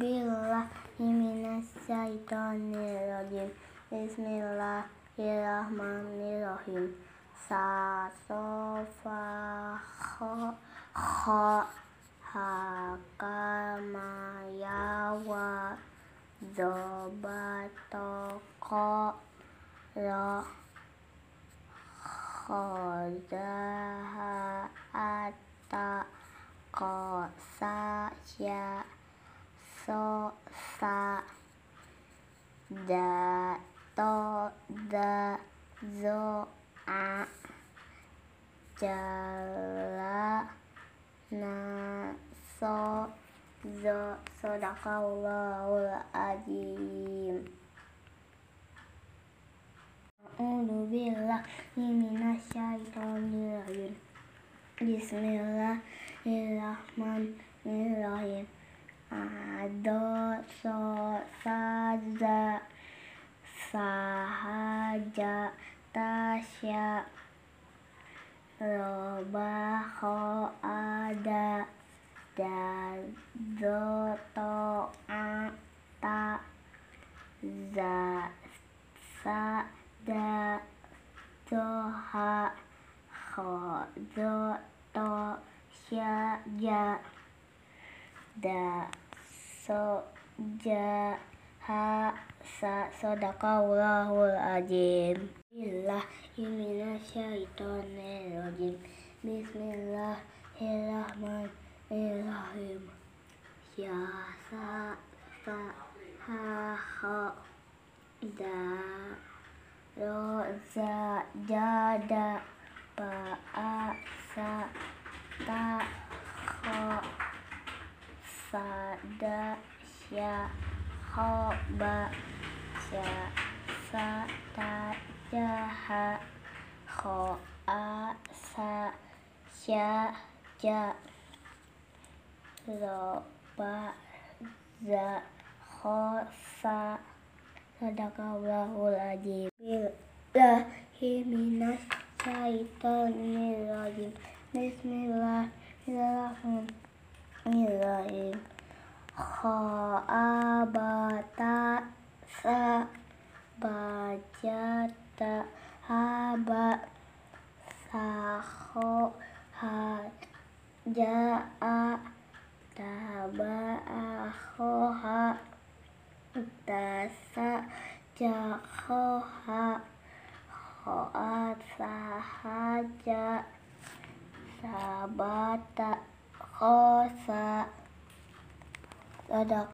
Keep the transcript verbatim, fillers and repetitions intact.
billahi minasyaitonirrajim. Bismillahirrahmanirrahim. Sa so fa kha kha ha ka ma ya wa zo ba to ko ra kha za ha ata ko sa ya so sa da to da zo a jala na so zo sadaqallahul azim. A'udzu billahi minasyaitonirrajim. Bismillahirrahmanirrahim. Ado so saza sahaja tasya roba ho ada da zo to a ta za sa da zo ha ho zo to sya ja da so ja ha sa sadaqallahul azim. Billahi minasyaitonirrajim. Bismillahirrahmanirrahim. Ya sa sa ha ha da ro za ja da ba a sa ta kho sa da sya ho ba sya sa ta ja ha kho a sa sya ja ro ba za ho sa sadaqallahul azim. Billahi minasyaitonirrajim. Bismillahirrahmanirrahim. Kha abata sa bajata haba sa kho ha ja a taba a kho ha ta sa ja kho ha ho a sa ha ja sabata kho sa sadaq